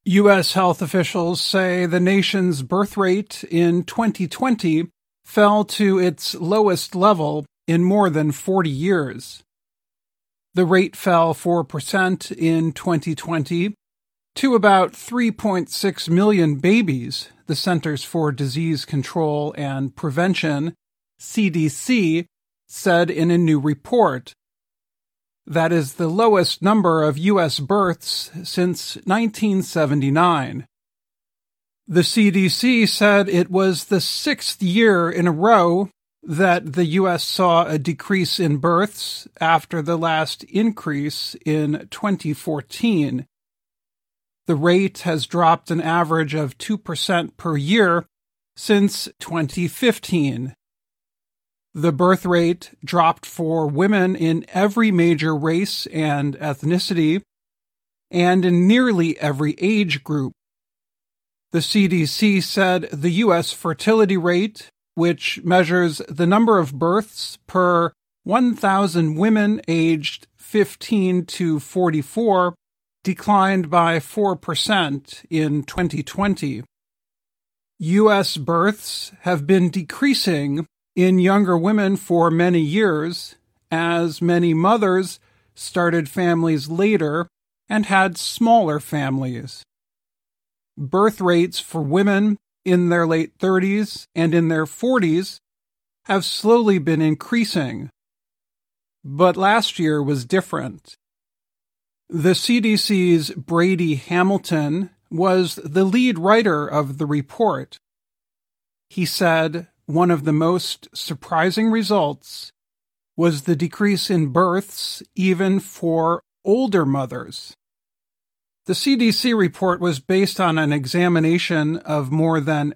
U.S. health officials say the nation's birth rate in 2020 fell to its lowest level in more than 40 years. The rate fell 4% in 2020 to about 3.6 million babies, the Centers for Disease Control and Prevention, CDC, said in a new report. That is the lowest number of U.S. births since 1979. The CDC said it was the sixth year in a row that the U.S. saw a decrease in births after the last increase in 2014. The rate has dropped an average of 2% per year since 2015. The birth rate dropped for women in every major race and ethnicity, and in nearly every age group. The CDC said the U.S. fertility rate, which measures the number of births per 1,000 women aged 15 to 44, declined by 4% in 2020. U.S. births have been decreasing in younger women for many years, as many mothers started families later and had smaller families. Birth rates for women in their late 30s and in their 40s have slowly been increasing. But last year was different. The CDC's Brady Hamilton was the lead writer of the report. He said, one of the most surprising results was the decrease in births even for older mothers. The CDC report was based on an examination of more than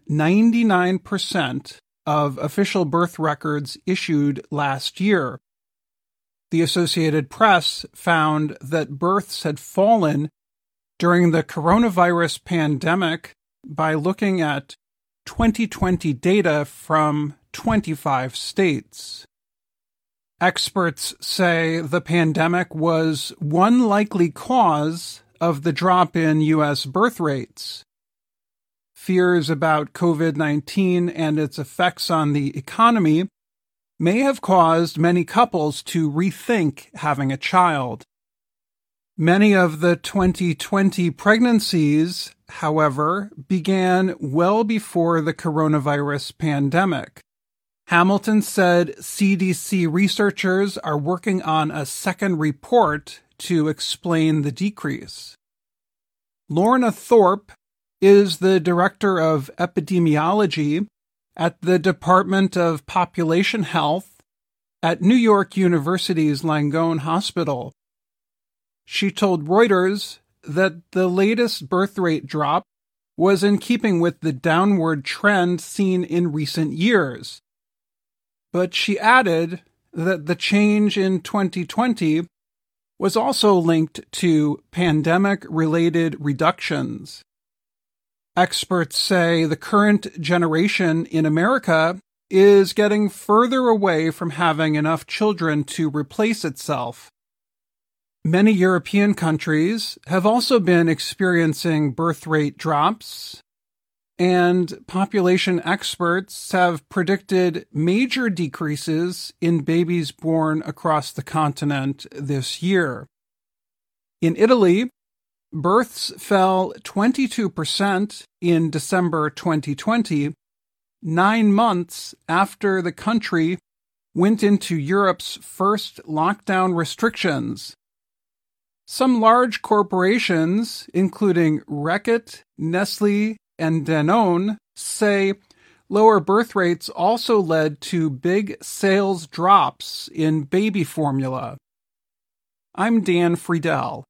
99% of official birth records issued last year. The Associated Press found that births had fallen during the coronavirus pandemic by looking at 2020 data from 25 states. Experts say the pandemic was one likely cause of the drop in U.S. birth rates. Fears about COVID-19 and its effects on the economy may have caused many couples to rethink having a child. Many of the 2020 pregnancies, however, began well before the coronavirus pandemic. Hamilton said CDC researchers are working on a second report to explain the decrease. Lorna Thorpe is the director of epidemiology at the Department of Population Health at New York University's Langone Hospital. She told Reuters that the latest birth rate drop was in keeping with the downward trend seen in recent years. But she added that the change in 2020 was also linked to pandemic-related reductions. Experts say the current generation in America is getting further away from having enough children to replace itself. Many European countries have also been experiencing birth rate drops, and population experts have predicted major decreases in babies born across the continent this year. In Italy, births fell 22% in December 2020, 9 months after the country went into Europe's first lockdown restrictions. Some large corporations, including Reckitt, Nestlé, and Danone, say lower birth rates also led to big sales drops in baby formula. I'm Dan Friedel.